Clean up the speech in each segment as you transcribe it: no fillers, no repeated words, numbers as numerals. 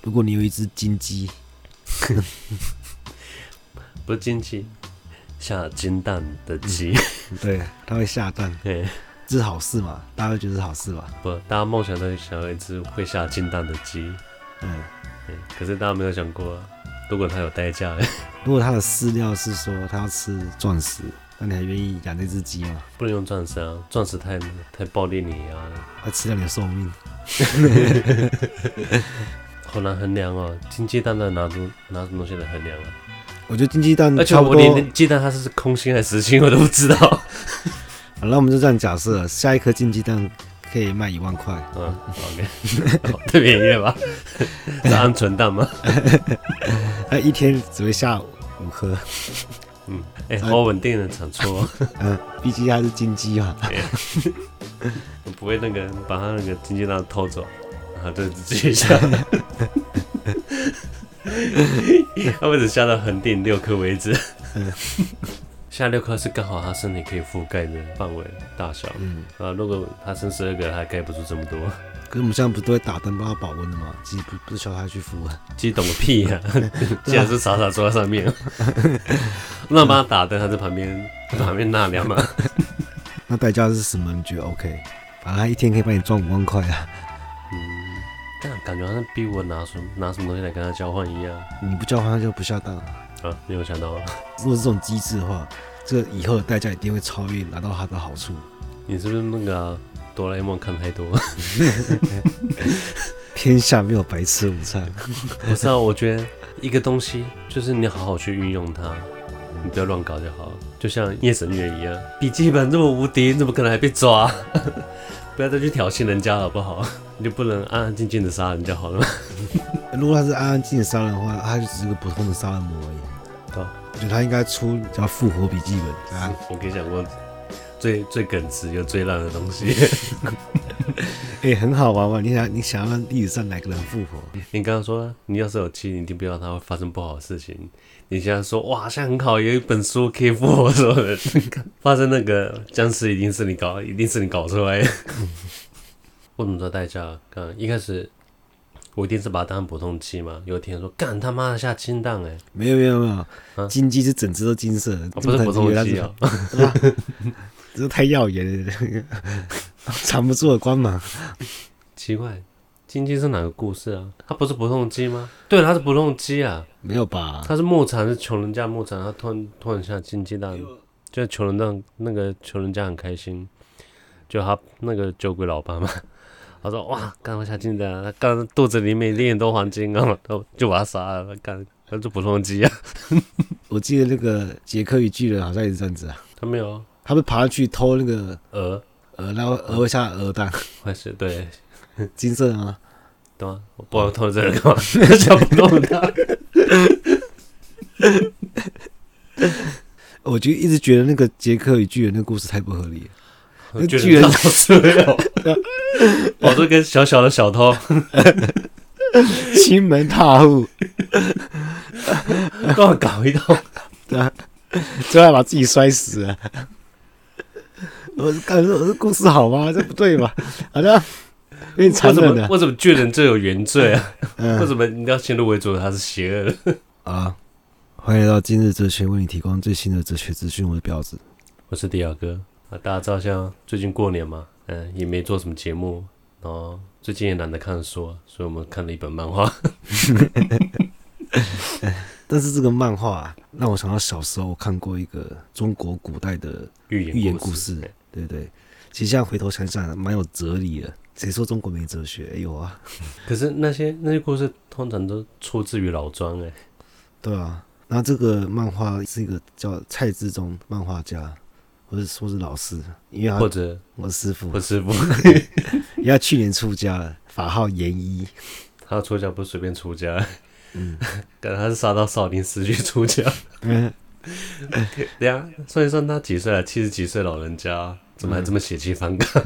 如果你有一隻金雞， 不是金雞，下金蛋的雞， 對，它會下蛋， 對， 這是好事嘛？大家都覺得是好事吧？ 不，大家夢想都想要一隻會下金蛋的雞，可是大家沒有想過，如果它有代價， 如果它的飼料是說它要吃鑽石，那你還願意養這隻雞嗎？ 不能用鑽石啊，鑽石太暴力碾壓了， 它吃掉你的壽命。 好難衡量哦，金雞蛋拿什麼東西來衡量啊？ 我覺得金雞蛋， 而且我連雞蛋它是空心還是實心我都不知道。好， 那我們就這樣假設，下一顆金雞蛋可以賣1萬塊。 OK， 太便宜了吧？是鵪鶉蛋嗎？ 它一天只會下5顆。 好穩定的產出哦。 畢竟它是金雞嘛。 我不會把它那個金雞蛋偷走，然後就自己下。他們只下到恆定6顆為止。下6顆是剛好他身體可以覆蓋的範圍大小。如果他生12個，他蓋不出這麼多。 可是我們現在不是都會打燈幫他保溫的嗎？雞不是叫他去孵啊？ 雞懂個屁呀！竟然是傻傻坐在上面。那幫他打燈，他在旁邊納涼嘛。 那代價是什麼？你覺得 OK？反正他一天可以幫你賺5萬塊啊。 但感覺好像逼我拿什麼東西來跟他交換一樣。 你不交換，他就不下蛋啊。 沒有想到。 如果是這種機制的話，這個以後的代價一定會超越，拿到他的好處。 你是不是那個哆啦 A 夢看太多？ 天下沒有白吃午餐。 不是啊，我覺得一個東西就是你好好去運用它，你不要亂搞就好。就像夜神月一樣，筆記本這麼無敵，你怎麼可能還被抓？不要再去挑釁人家好不好？你就不能安安靜靜的殺人就好了嗎？ 如果他是安安靜靜的殺人的話，他就只是個普通的殺人魔而已。我覺得他應該出叫復活筆記本。 我跟你講過最耿直又最爛的東西。 很好玩嘛！你想要讓歷史上哪個人復活？你剛剛說你要是有雞，你一定不要它會發生不好的事情。你現在說哇，現在很好，有一本書可以復活所有人，發生那個僵屍一定是你搞出來的。我怎麼知道代價？一開始我一定是把它當普通雞嘛。有一天說幹他媽的下金蛋沒有，金雞是整隻都金色的， 不是普通雞啊。 這太耀眼了，藏不住的光芒。 奇怪，金雞是哪個故事啊？它不是普通雞嗎？對，它是普通雞啊。沒有吧？它是牧場，是窮人家牧場，它突然下金雞蛋，就窮人家很開心，就他那個酒鬼老爸嘛，他說哇，剛剛下金蛋，他剛肚子裡面一定很多黃金啊，就把他殺了，幹，他是普通雞啊。 我記得那個傑克與巨人好像也是這樣子啊。 他沒有啊。他們爬上去偷那個鵝， 然後鵝會下鵝蛋， 會是對， 金色的嗎？ 對啊，我不知道偷這個幹嘛，想不動它。 我就一直覺得那個傑克與巨人那個故事太不合理了。 巨人老師沒有，我這個小小的小偷， 親門踏戶， 跟我搞一通， 對啊，最後還把自己摔死了。我這故事好嗎？這不對吧？好像有點殘忍的。 為什麼巨人最有原罪啊？為什麼你要先入為主他是邪惡的？ 啊，歡迎來到今日哲學，為你提供最新的哲學資訊。我是標子， 我是迪亞哥啊。大家知道像最近過年嘛，也沒做什麼節目，然後最近也懶得看書，所以我們看了一本漫畫。 但是這個漫畫讓我想到小時候我看過一個中國古代的寓言故事，對不對？其實現在回頭想想，蠻有哲理的。誰說中國沒哲學？有啊。 可是那些故事通常都出自於老莊對啊。那這個漫畫是一個叫蔡志忠漫畫家，或者說是老師，因為他或者我師傅，因為他去年出家了，法號嚴一。 他出家不是隨便出家。感覺他是殺到少林寺去出家。等一下算一算他幾歲了？70幾歲老人家，怎麼還這麼血氣方剛？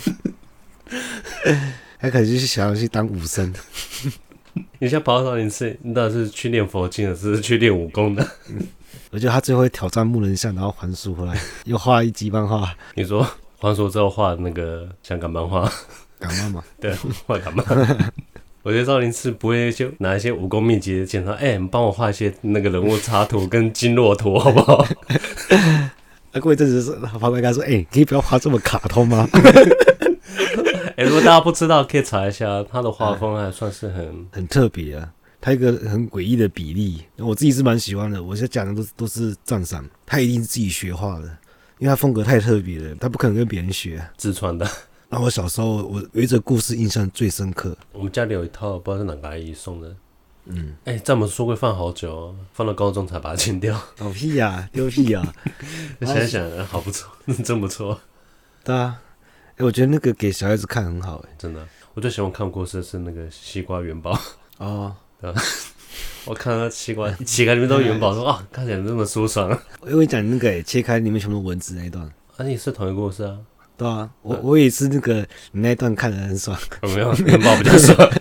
他可能就是想要去當武僧。 你現在跑到少林寺，你到底是去練佛經的，是去練武功的？ 我覺得他最後會挑戰木人像，然後還書回來，又畫一集漫畫。 你說還書之後畫那個香港漫畫？ 港漫嘛？ 對，畫港漫。 我覺得趙靈次不會就拿一些武功秘籍檢查，你幫我畫一些那個人物插圖跟經絡圖好不好？ 過一陣子法官跟他說：“可以不要畫這麼卡通嗎？” 如果大家不知道，可以查一下，他的畫風還算是很特別啊。他一個很詭異的比例，我自己是蠻喜歡的。我現在講的都是讚賞，他一定是自己學畫的，因為他風格太特別了，他不可能跟別人學， 自創的。 那我小時候我有一則故事印象最深刻。我們家裡有一套，不知道是哪個阿姨送的。在我們書櫃放好久哦，放到高中才把它清掉。 好屁呀，丟屁呀！ 現在想好不錯，真不錯。 對啊，我覺得那個給小孩子看很好， 真的。我最喜歡看故事的是那个西瓜元寶。哦，對吧？我看到西瓜切開裡面都是元寶，說啊，看起來這麼舒爽。我跟你講那個切開裡面全部文字那一段， 也是同一個故事啊。 對啊，我也是那個你那一段看得很爽。 沒有元寶比較爽。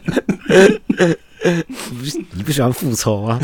你不喜歡復仇嗎？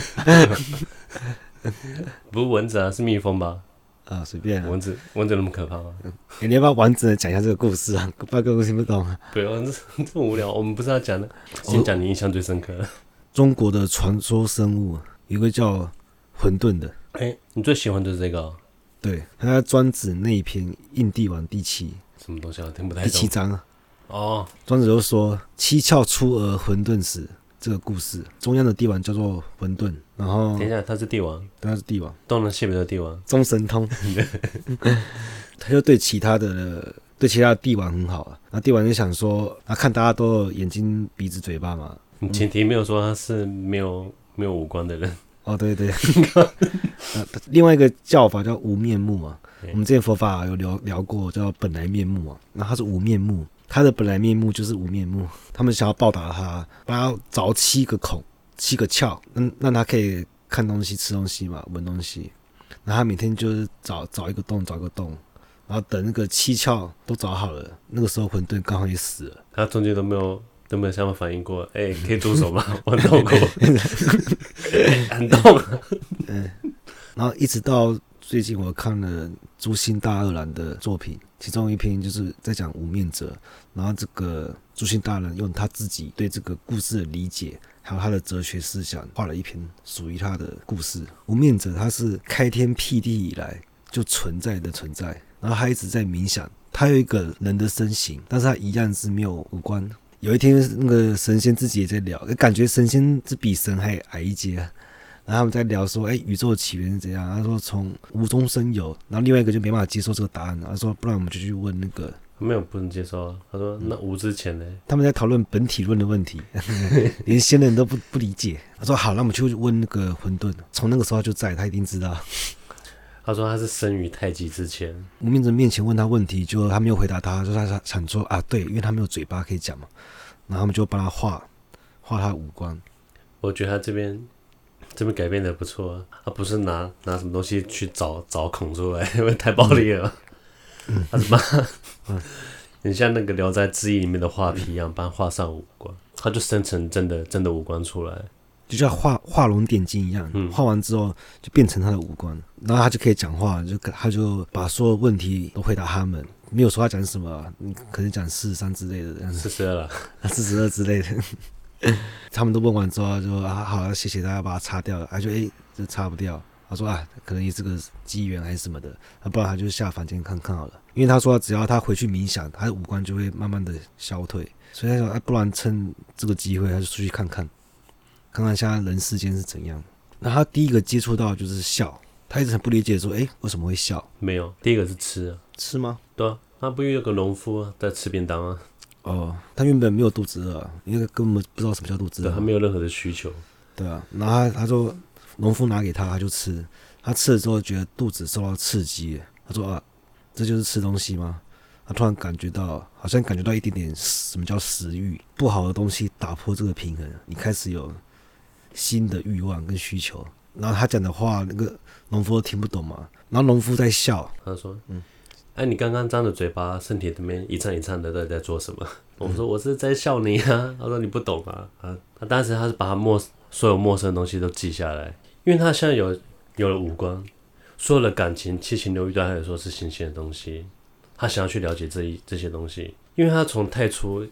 不是蚊子啊，是蜜蜂吧？ 啊，隨便啊。 蚊子那麼可怕嗎？ 你要不要完整的講一下這個故事啊？不然各位聽不懂啊。 不用，這麼無聊。我們不是要講的，先講你印象最深刻的。 中國的傳說生物有一個叫混沌的。 你最喜歡的是這個哦？ 對，他在莊子那一篇《應帝王》第7。什麼東西啊？聽不太懂。 第7章啊。 哦。 莊子就說：“七竅出而混沌始。”這個故事，中央的帝王叫做混沌，然後等一下，他是帝王， 對，他是帝王， 東南西北的帝王， 中神通。他就對其他的帝王很好啊。然後帝王就想說，看大家都有眼睛、鼻子、嘴巴嘛。 前提沒有說他是沒有五官的人。 哦，對對。另外一個叫法叫無面目嘛。我們之前佛法有聊過，叫本來面目嘛。然後他是無面目。他的本來面目就是無面目，他們想要報答他，幫他鑿7個孔、7個竅，讓他可以看東西、吃東西嘛，聞東西。然後他每天就是找一個洞，找一個洞，然後等那個7竅都找好了，那個時候混沌剛好也死了。 他中間都沒有想法反應過，可以住手嗎？我很痛苦，很痛。 然後一直到最近我看了朱心大二郎的作品，其中一篇就是在講無面者，然後這個朱心大二郎用他自己對這個故事的理解，還有他的哲學思想，畫了一篇屬於他的故事。無面者他是開天闢地以來就存在的存在，然後他一直在冥想，他有一個人的身形，但是他一樣是沒有五官。有一天那個神仙自己也在聊，感覺神仙是比神還矮一階啊。然後他們在聊說，宇宙的起源是怎樣？他說從無中生有。然後另外一個就沒辦法接受這個答案，他說不然我們就去問那個。 沒有不能接受啊。他說那無之前呢？ 他們在討論本體論的問題，連仙人都不理解。他說好，那我們去問那個混沌。從那個時候他就在，他一定知道。 他說他是生於太極之前。 無面者面前問他問題，就他沒有回答他，就他想說啊，對，因為他沒有嘴巴可以講嘛。然後他們就幫他畫他的五官。 我覺得他這邊改編的不錯啊，他不是拿什麼東西去找孔出來，因為太暴力了。他是把很像那個《聊齋志異》裡面的畫皮一樣，幫他畫上五官，他就生成真的五官出來， 就像畫龍點睛一樣。畫完之後就變成他的五官，然後他就可以講話，他就把所有問題都回答他們，沒有說他講什麼，可能講43之類的 ，42了 ，42之類的。他們都問完之後就好，謝謝大家把它擦掉了。他就這擦不掉。他說可能也是個機緣還是什麼的，不然他就下凡間看看好了。因為他說只要他回去冥想，他的五官就會慢慢的消退。所以他說不然趁這個機會他就出去看看現在人世間是怎樣。那他第一個接觸到的就是笑，他一直很不理解說為什麼會笑？ 沒有，第一個是吃啊。 吃嗎？對啊， 他不遇到個農夫在吃便當啊。 哦，他原本沒有肚子餓，因為根本不知道什麼叫肚子餓。 對，他沒有任何的需求。 對啊，然後他說農夫拿給他就吃，他吃了之後覺得肚子受到刺激，他說這就是吃東西嗎？他突然好像感覺到一點點什麼叫食慾，不好的東西打破這個平衡，你開始有新的慾望跟需求。然後他講的話，那個農夫都聽不懂嘛，然後農夫在笑， 他說你剛剛張着嘴巴，身體裡面一顫一顫的，到底在做什麼？我說我是在笑你啊。他說你不懂啊。他當時他是把他所有陌生的東西都記下來，因為他現在有了五官，所有的感情、七情六慾對他來說是新鮮的東西。他想要去了解這些東西，因為他從太初一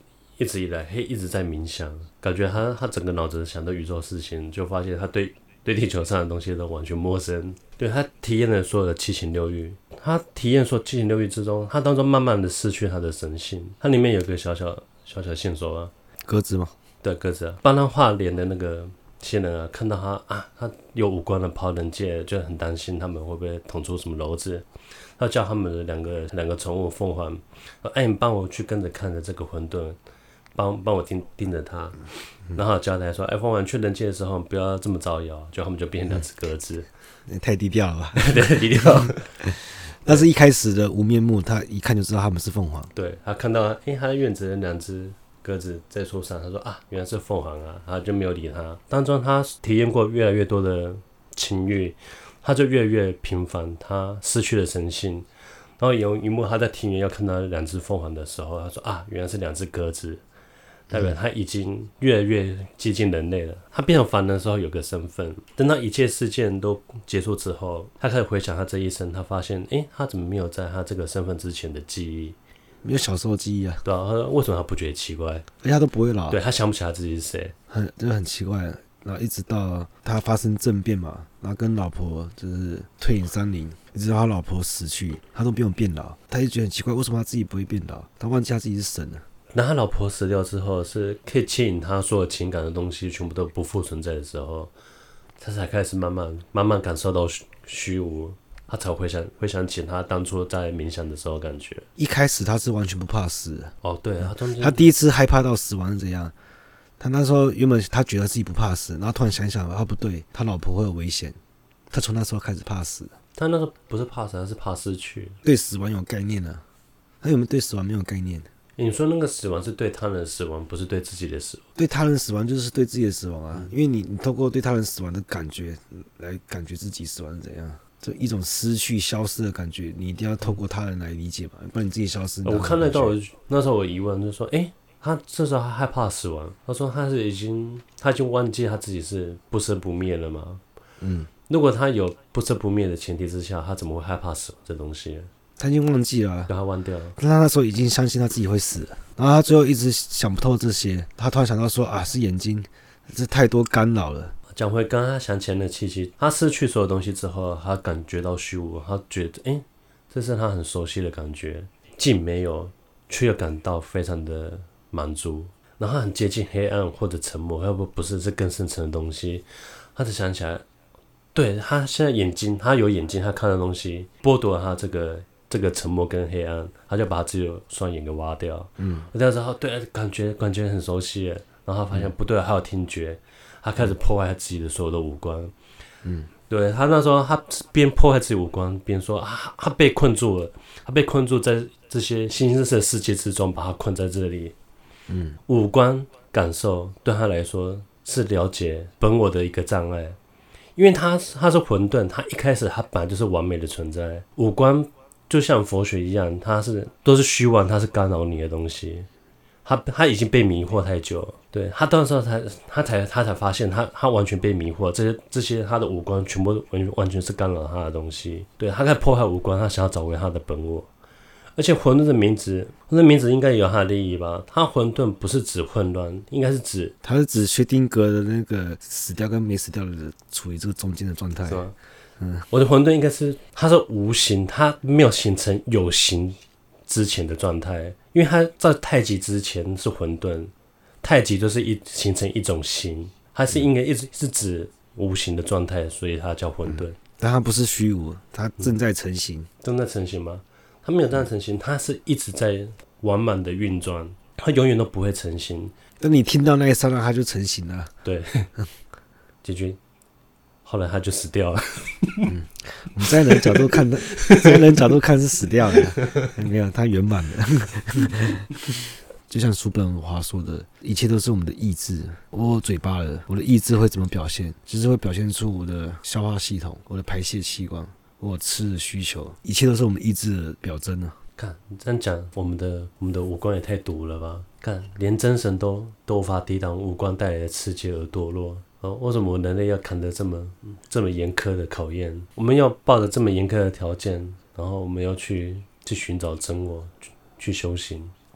一直以來一直在冥想，感覺他整個腦子想到宇宙事情，就發現他對地球上的東西都完全陌生。對，他體驗了所有的七情六欲，他體驗說七情六欲之中，他當中慢慢的失去他的神性。他裡面有個小線索啊， 鴿子嗎？ 對，鴿子啊，幫他畫臉的那個仙人啊，看到他有五官的跑人界，就很擔心他們會不會捅出什麼簍子。他叫他們的兩個寵物鳳凰，哎，你幫我去跟着看着這個混沌，幫我盯着他，然後交代說，哎，鳳凰去人界的時候不要這麼招搖，就他們就變成兩隻鴿子。 太低調了吧？ 對，低調。 但是一開始的無面目，他一看就知道他們是鳳凰。 對，他看到，他的院子的兩隻鴿子在樹上，他說原來是鳳凰啊，他就沒有理他。當中他體驗過越來越多的情慾，他就越來越頻繁，他失去了神性。然後有一幕，他在庭園要看到兩隻鳳凰的時候，他說原來是兩隻鴿子。代表他已經越來越接近人類了。他變成凡人的時候有個身份，等到一切事件都結束之後，他開始回想他這一生，他發現，他怎麼沒有在他這個身份之前的記憶？ 沒有小時候記憶啊？ 對啊，他說為什麼他不覺得奇怪？ 而且他都不會老。 對，他想不起來自己是誰， 很奇怪。然後一直到他發生政變嘛，然後跟老婆就是退隱山林，一直到他老婆死去，他都不用變老。他就覺得很奇怪，為什麼他自己不會變老？他忘記他自己是神了。 那他老婆死掉之後，是可以牽引他所有情感的東西全部都不復存在的時候，他才開始慢慢感受到虛無，他才回想起他當初在冥想的時候感覺。 一開始他是完全不怕死的。 哦，對， 他第一次害怕到死亡是怎樣？他那時候原本他覺得自己不怕死，然後突然想想，不對，他老婆會有危險，他從那時候開始怕死。 他那时候不是怕死，他是怕失去， 對死亡有概念啊。他有没有對死亡沒有概念？ 你說那個死亡是對他人的死亡，不是對自己的死亡。 對他人死亡就是对自己的死亡啊，因為你透過對他人死亡的感覺來感覺自己死亡是怎樣，就一種失去消失的感覺，你一定要透過他人來理解嘛，不然你自己消失。 我看得到，那時候我疑問就是說，他這時候他害怕死亡，他說他已經忘記他自己是不生不滅了嗎？如果他有不生不滅的前提之下，他怎麼會害怕死亡這東西？他已經忘記了， 把他忘掉了。 他那時候已經相信他自己會死了，然後他最後一直想不透這些，他突然想到說是眼睛，這太多干擾了。 講回剛剛他想起來的契機，他失去所有東西之後，他感覺到虛無，他覺得這是他很熟悉的感覺，既沒有，卻又感到非常的滿足。然後他很接近黑暗或者沉默，要不是更深層的東西，他才想起來，對，他現在眼睛，他有眼睛，他看的東西剝奪了他這個沉默跟黑暗，他就把他自己的雙眼給挖掉。我那時候對感覺很熟悉耶，然後他發現不对，還有聽覺，他開始破壞他自己的所有的五官。對，他那時候他邊破壞自己五官，邊說他被困住了，他被困住在這些新生的世界之中，把他困在這裡。五官感受對他來說是了解本我的一個障礙，因為他是混沌，他一開始他本來就是完美的存在，五官就像佛學一樣，都是虛妄，它是干擾你的東西。他已經被迷惑太久了，對，他到時候他才發現他完全被迷惑，這些他的五官全部完全是干擾他的東西。對，他開始破壞五官，他想要找回他的本我。而且混沌的名字應該有它的意義吧？它混沌不是指混亂，應該是指它是指薛丁格的那個死掉跟沒死掉的人處於這個中間的狀態。是嗎？ 我的混沌應該是它是無形，它沒有形成有形之前的狀態，因為它在太極之前是混沌，太極就是形成一種形，它是應該一直是指無形的状態，所以它叫混沌。 但它不是虛無，它正在成型。 正在成型嗎？它沒有正在成型，它是一直在完滿的運轉，它永遠都不會成型。 等你聽到那一剎那，它就成型了。 對，結局。後來他就死掉了。 我們在人角度看，是死掉了，沒有，他圓滿了。就像叔本華說的，一切都是我們的意志。我有嘴巴了，我的意志會怎麼表現？就是會表現出我的消化系統、我的排泄器官、我吃的需求，一切都是我們意志的表徵啊。 看你這樣講，我們的五官也太毒了吧？看，連真神都無法抵擋五官帶來的刺激而墮落。為什麼人類要扛着這麼嚴苛的考驗？我們要抱着這麼嚴苛的條件，然後我們要去尋找真我，去修行。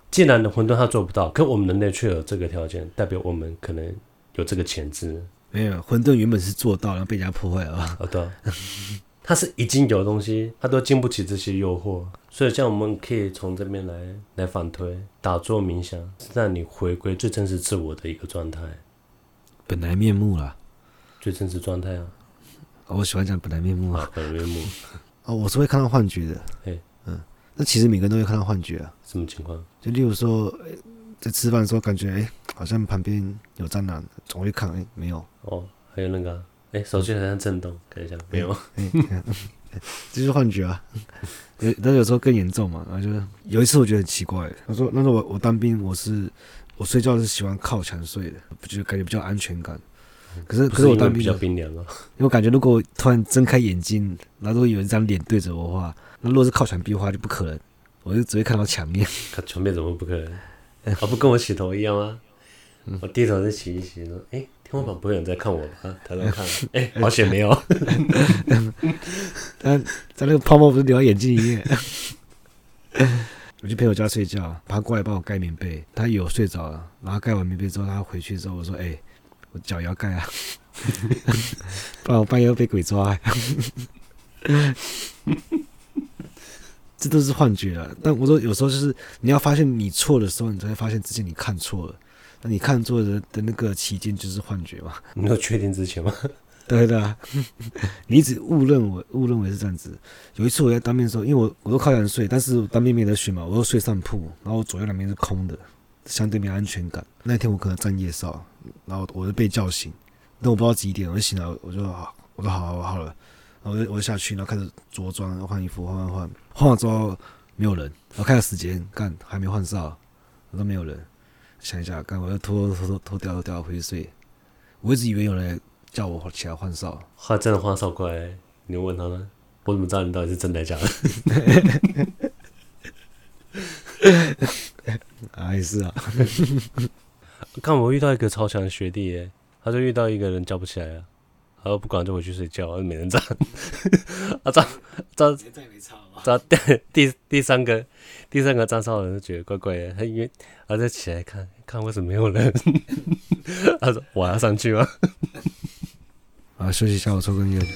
既然混沌它做不到，可我們人類卻有這個條件，代表我們可能有這個潛質。 沒有，混沌原本是做到，然後被人家破壞了。 對啊，它是已經有的東西，它都經不起這些誘惑，所以像我們可以從這邊來反推，打坐冥想，讓你回歸最真實自我的一個狀態， 本來面目啦， 最真實狀態啊。 我喜歡講本來面目啊， 本來面目。 我是會看到幻覺的。那其實每個人都會看到幻覺啊。 什麼情況？就例如說，在吃飯的時候，感覺好像旁邊有蟑螂，總會看，沒有。 還有那個手機好像震動，看一下，沒有。 這就是幻覺啊。但有時候更嚴重嘛。然後就有一次我覺得很奇怪，他說那時候我當兵，我睡覺是喜歡靠牆睡的，就感覺比較安全感。可是我當兵比較冰涼啊， 因為我感覺如果我突然睜開眼睛，然後如果有一張臉對着我的話，那如果是靠牆壁的話就不可能，我就只會看到牆面。 墙面怎麼不可能？不跟我洗頭一樣嗎？我低頭再洗一洗，說天花板不會有人在看我吧？抬頭看，好險沒有。但在那個泡沫不是流到眼睛裡面。我去陪我家睡覺，他過來幫我蓋棉被，他以為我睡着了，然後蓋完棉被之後，他回去之後我說我腳也要蓋啊，不然我半夜要被鬼抓。這都是幻覺啊！但我說有時候就是你要發現你錯的時候，你才會發現之前你看錯了。那你看錯的那個期間就是幻覺嘛？你有確定之前嗎？ 對的啊，你一直誤認為是這樣子。有一次我在當兵的時候，因為我都靠牆睡，但是我當兵沒得選嘛，我都睡上鋪，然後我左右兩邊是空的，相對沒安全感。那天我可能站夜哨，然後我就被叫醒，但我不知道幾點，我就醒了，我说好了，然後我就下去，然後開始着裝換衣服，換完之後沒有人，然後看時間，還沒換哨，我說沒有人，想一下，我就脫掉回去睡。我一直以為有人叫我起來換哨， 他真的換哨過來，你問他呢？我怎麼知道你到底是真的假的？ 也是啊。 看我遇到一個超強的學弟耶，他就遇到一個人叫不起来了，他說不管就回去睡覺，沒人站。第三個站哨的人就覺得怪怪的，他因為他再起來看為什麼沒有人，他說我要上去嗎？ 休息一下，我抽根煙。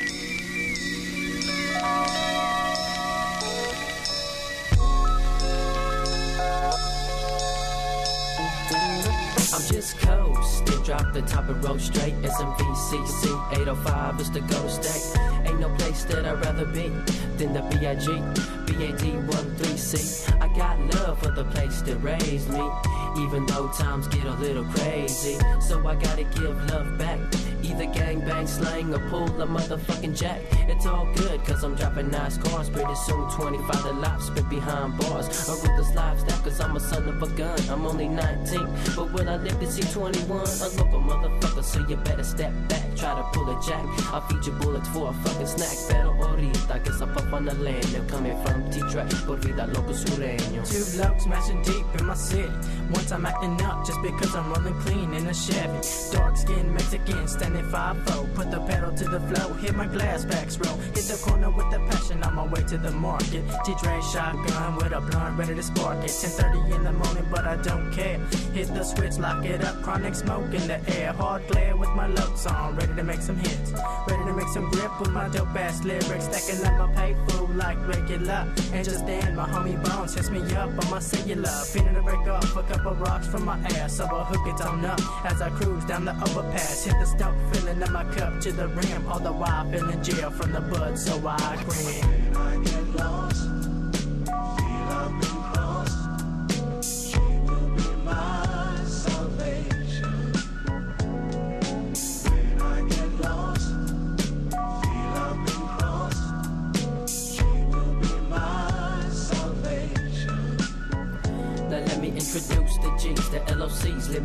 Just coast, then drop the top and roll straight. SMVCC 805 is the go state. Ain't no place that I'd rather be than the BIG, BAD13C. I got love for the place that raised me, even though times get a little crazy. So I gotta give love back. Either gangbang, slang, or pull a motherfucking jack. It's all good, cause I'm dropping nice cars. Pretty soon 25 the life spent behind bars. A ruthless lifestyle, cause I'm a son of a gun. I'm only 19, but will I live to see 21? A local motherfucker, so you better step back. Try to pull a jack, I'll feed you bullets for a fucking snack. Pero ahorita, que up on the land. They're coming from T-Track, por vida loco sureño. Two blokes smashing deep in my city. One time acting up just because I'm rolling clean in a Chevy. Dark skin Mexican, standing 5'4", put the pedal to the floor, hit my glass backs roll, hit the corner with the passion, on my way to the market. T-Train shotgun with a blunt, ready to spark it. 10:30 in the morning, but I don't care. Hit the switch, lock it up, chronic smoke in the air. Hard glare with my looks on, ready to make some hits, ready to make some grip with my dope ass lyrics. Stacking up my pay food like regular, and just then my homie Bones hits me up on my cellular. Feeling to break off a couple rocks from my ass, so I hook it on up as I cruise down the overpass. Hit the stop, filling up my cup to the rim, all the while feeling jail from the bud, so I grin. When I get lost, feel I've been crossed, she will be my salvation. When I get lost, feel I've been crossed, she will be my salvation. Now let me introduce the G's, the LOCs, living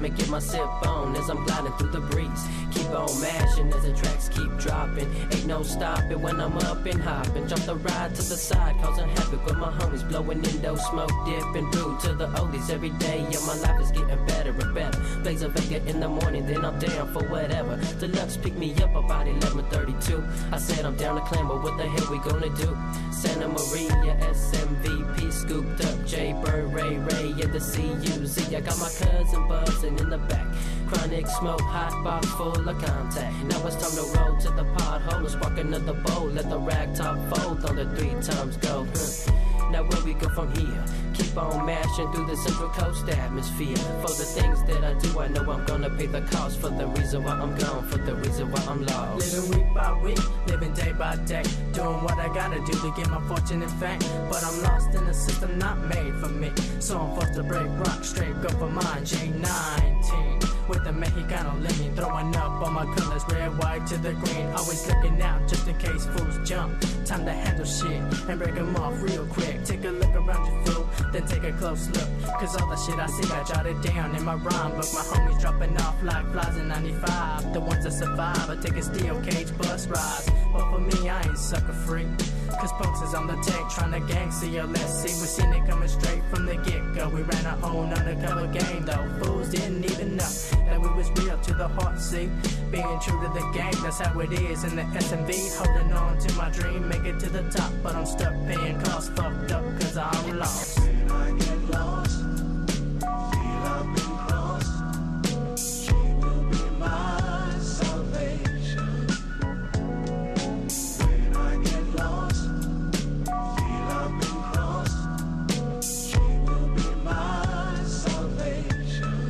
me get my sip on as I'm gliding through the breeze. Keep on mashing as the tracks keep dropping. Ain't no stopping when I'm up and hopping. Jump the ride to the side, causing havoc with my homies. Blowing indo smoke, dipping through to the oldies every day. Yeah, my life is getting better and better. Blaze a Vega in the morning, then I'm down for whatever. Deluxe pick me up about 11:32. I said I'm down to clamber, what the hell we gonna do? Santa Maria, SMVP, scooped up J Bird, Ray and the CUZ. I got my cousin buzzing in the back. Chronic smoke, hot box full of contact. Now it's time to roll to the pothole and spark another bowl. Let the rag top fold on the 3 times go. Now where we go from here? Keep on mashing through the Central Coast atmosphere. For the things that I do, I know I'm gonna pay the cost. For the reason why I'm gone, for the reason why I'm lost. Living week by week, living day by day. Doing what I gotta do to get my fortune and fame. But I'm lost in a system not made for me. So I'm forced to break rock, straight go for mine. J19 with the Mexicano lean, throwing up all my colors, red, white to the green. Always looking out just in case fools jump. Time to handle shit and break them off real quick. Take a look around you, fool, then take a close look. Cause all the shit I see, I jotted down in my rhyme book. My homies dropping off like flies in 95. The ones that survive, I take a steel cage bus rides. But for me, I ain't sucker free. Cause Punks is on the tank trying to gang CLSC. We seen it coming straight from the get-go. We ran our own undercover game though. Fools didn't even know that we was real to the heart, see. Being true to the game, that's how it is in the SMV. Holding on to my dream, make it to the top. But I'm stuck paying costs, fucked up cause I'm lost. When I get lost, feel I've been crossed. She will be my salvation. When I get lost, feel I've been crossed. She will be my salvation.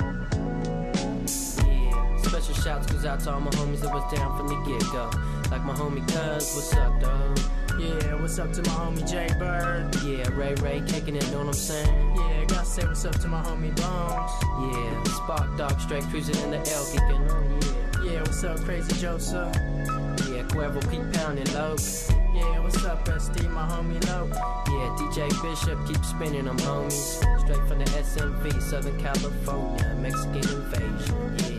Yeah, special shouts goes out to all my homies that was down from the get-go. Like my homie Cuz, what's up, dog? Yeah, what's up to my homie J Bird? Yeah, Ray kicking it, know what I'm saying? Yeah, gotta say what's up to my homie Bones. Yeah, Spark Dog straight cruising in the L kicking, oh yeah. Yeah, what's up Crazy Joseph? Yeah, Cuervo keep pounding low. Yeah, what's up SD, my homie Low? Yeah, DJ Bishop keep spinning them homies. Straight from the SMV, Southern California, Mexican invasion, yeah.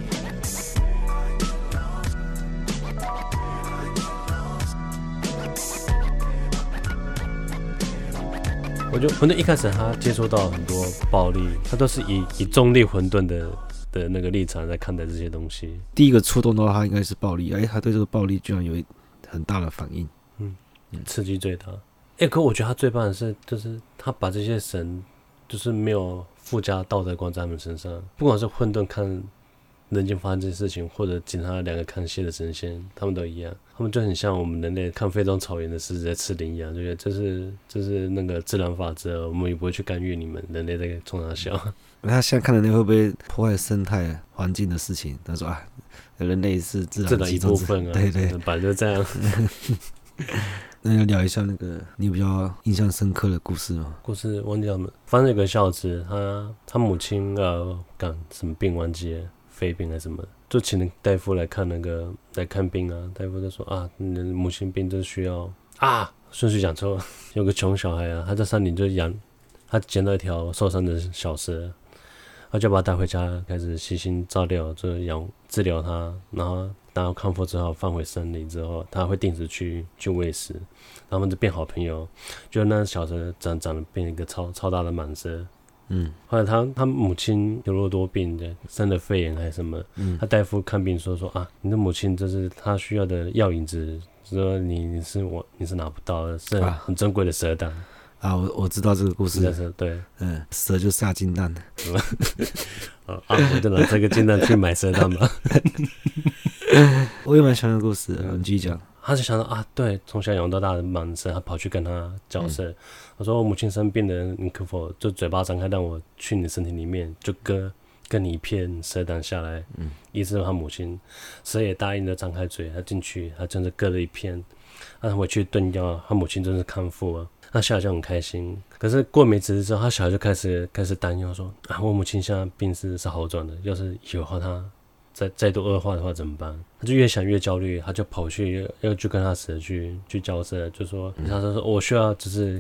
我觉得混沌一開始他接觸到很多暴力，他都是以中立混沌的那個立場在看待這些東西。 第一個觸動到他應該是暴力，他對這個暴力居然有很大的反應， 刺激最大。可我覺得他最棒的是，就是他把這些神，就是沒有附加道德觀在他們身上，不管是混沌看人間發生這些事情，或者警察兩個看戲的神仙，他們都一樣，他們就很像我們人類看非洲草原的獅子在吃羚羊，就覺得這是那個自然法則，我們也不會去干預你們人類在衝他笑。 他現在看的那會不會破壞生態環境的事情？他說人類是自然一部分啊，對，本來就這樣。 那要聊一下那個你比較印象深刻的故事嗎？ 故事忘記了，反正有個孝子，他母親什麼病忘記了。肺病還是什麼，就請大夫來看病啊。大夫就說你的母親病就需要順序講錯了。有個窮小孩他在山裡就他撿到一條受傷的小蛇，他就把他帶回家，開始悉心照料，就治療他。然後等他康復之後，放回山裡之後，他會定時去餵食，然後他們就變好朋友。就那小蛇長得變一個超大的蟒蛇。後來他母親有諾多病的，生了肺炎還是什麼，他大夫看病說你的母親這是他需要的藥引子，說你是拿不到的，是很珍貴的蛇膽。 我知道這個故事。 對， 蛇就下金蛋。 我就拿這個金蛋去買蛇膽吧。 我也蠻喜歡的故事，你繼續講。 他就想到對，從小養到大的蟒蛇，他跑去跟他交涉。我說我母親生病了，你可否就嘴巴張開，讓我去你的身體裡面，就割你一片蛇膽下來，醫治他母親。蛇也答應了，張開嘴，他進去，他真的割了一片，他回去燉藥，他母親真是康復了。那小孩就很開心。可是過沒幾日之後，他小孩就開始擔憂說我母親現在病是好轉的，要是以後他再度惡化的話怎麼辦？他就越想越焦慮，他就跑去要去跟他蛇去交涉，就說他說我需要就是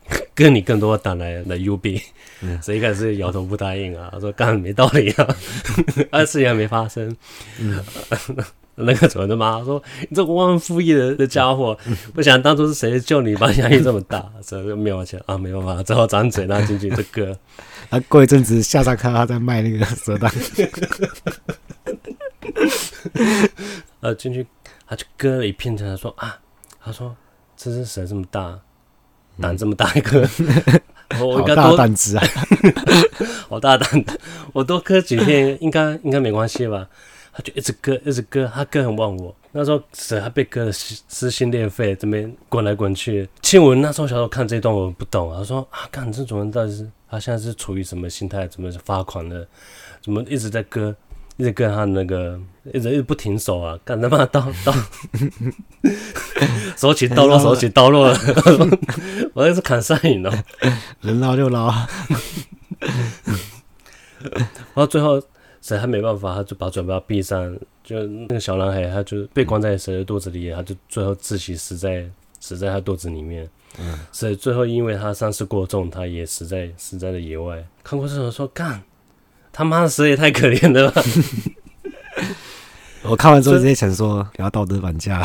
跟你更多打來 UB， 所以一開始搖頭不答應啊，說幹沒道理啊，事情還沒發生。那個主人就罵說：“你這個忘恩負義的家伙，不想當初是誰救你，把你壓力這麼大，所以就沒有錢啊，沒辦法，只好張嘴讓他進去這割。” 他過一陣子下山看到他在賣那個蛇蛋， 進去他就割了一片，他說他說這只蛇這麼大，膽這麼大一個，我應該多好大膽子啊， 好大膽的，我多割幾片應該沒關係吧？他就一直割，他割很忘我。那時候蛇還被割得撕心裂肺，這邊滾來滾去。其實我那時候小時候看這一段我不懂啊，他說幹這種人到底是他現在是處於什麼心態？怎麼發狂了？怎麼一直在割？一直割他那個，一直不停手啊！幹他媽刀，手起刀落了，我那是砍山影哦， 人撈就撈。 然後最後蛇還沒辦法，他就把嘴巴閉上，就那個小男孩他就被關在蛇的肚子裡，他就最後窒息死在他肚子裡面。所以最後因為他伤勢过重，他也死在了野外。看過这种說幹。他媽的蛇也太可憐了吧！ 我看完之後直接想說，不要道德綁架。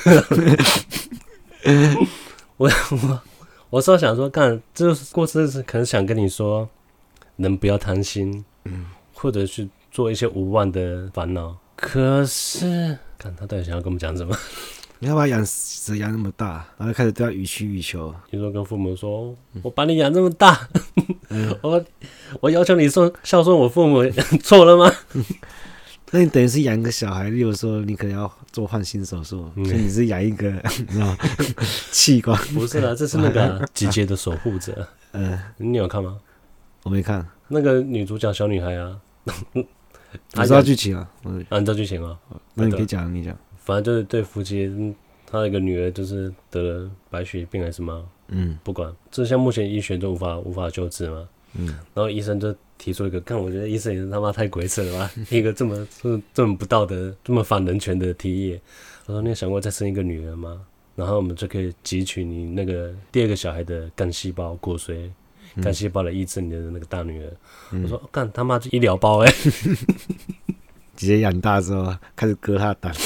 我是想說，幹這個故事是可能想跟你說，人不要貪心，或者去做一些無謂的煩惱。可是，看他到底想要跟我們講什麼？ 你要把養蛇養那麼大，然後開始對他予取予求。 你說跟父母說，我把你養這麼大，我要求你孝順我父母，錯了嗎？ 那你等於是養一個小孩，例如說你可能要做換心手術，所以你是養一個，你知道器官？ 不是啦，這是那個集結的守護者。你有看嗎？ 我沒看。 那個女主角小女孩啊， 你知道劇情啊？ 你知道劇情啊？ 那你可以講，你講。 反正就是对夫妻，他那個女兒就是得了白血病還是什麼，不管，這項目前醫學都無法救治嘛，然後醫生就提出一個，看我覺得醫生也是他媽太鬼扯了吧，一個這麼不道德、這麼反人權的提議。他說：“你有想過再生一個女兒嗎？然後我們就可以汲取你那個第二個小孩的幹細胞骨髓，幹細胞來醫治你的那個大女兒。”我說：“幹他媽就醫療包直接養大之後開始割他的膽，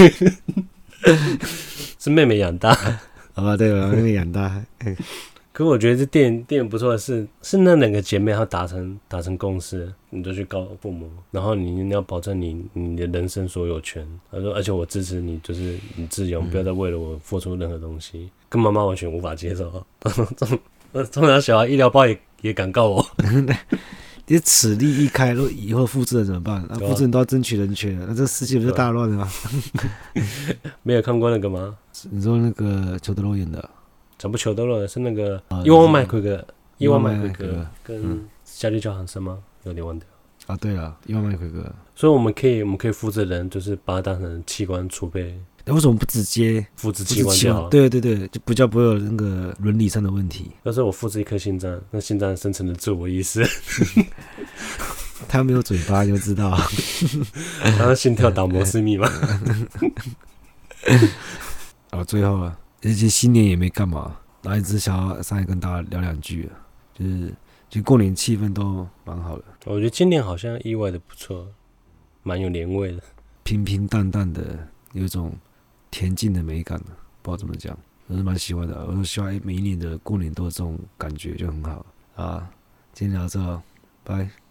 是妹妹養大。 對了，妹妹養大。 可我覺得這電影不錯的是那兩個姐妹她達成共識，你就去告父母，然後你要保證你的人生所有權。她說，而且我支持你，就是你自由，不要再為了我付出任何東西。跟媽媽完全無法接受。從小小孩醫療包也敢告我。 你此例一開，如果以後複製人怎麼辦？複製人都要爭取人權，那這世界不是大亂了嗎？ 沒有看過那個嗎？ 你說那個裘德洛演的？ 講不裘德洛是那個伊萬麥奎格跟夏利·喬韓森嗎？有點忘掉。啊， 對了，伊萬麥奎格。 所以我們可以複製人，就是把它當成器官儲備。 為什麼不直接複製器官就好？ 對，就比較不會有那個倫理上的問題。 要是我複製一顆心臟，那心臟生成的自我意識， 他沒有嘴巴，你就知道。 然後心跳打摩斯密碼。 最後啊，而且新年也沒幹嘛，然後一直想要上來跟大家聊兩句，就過年氣氛都蠻好的。 我覺得今年好像意外的不錯，蠻有年味的， 平平淡淡的，有一種恬靜的美感，不知道怎麼講，我是蠻喜歡的。我就希望每一年的過年都有這種感覺，就很好啊。今天聊到這，拜。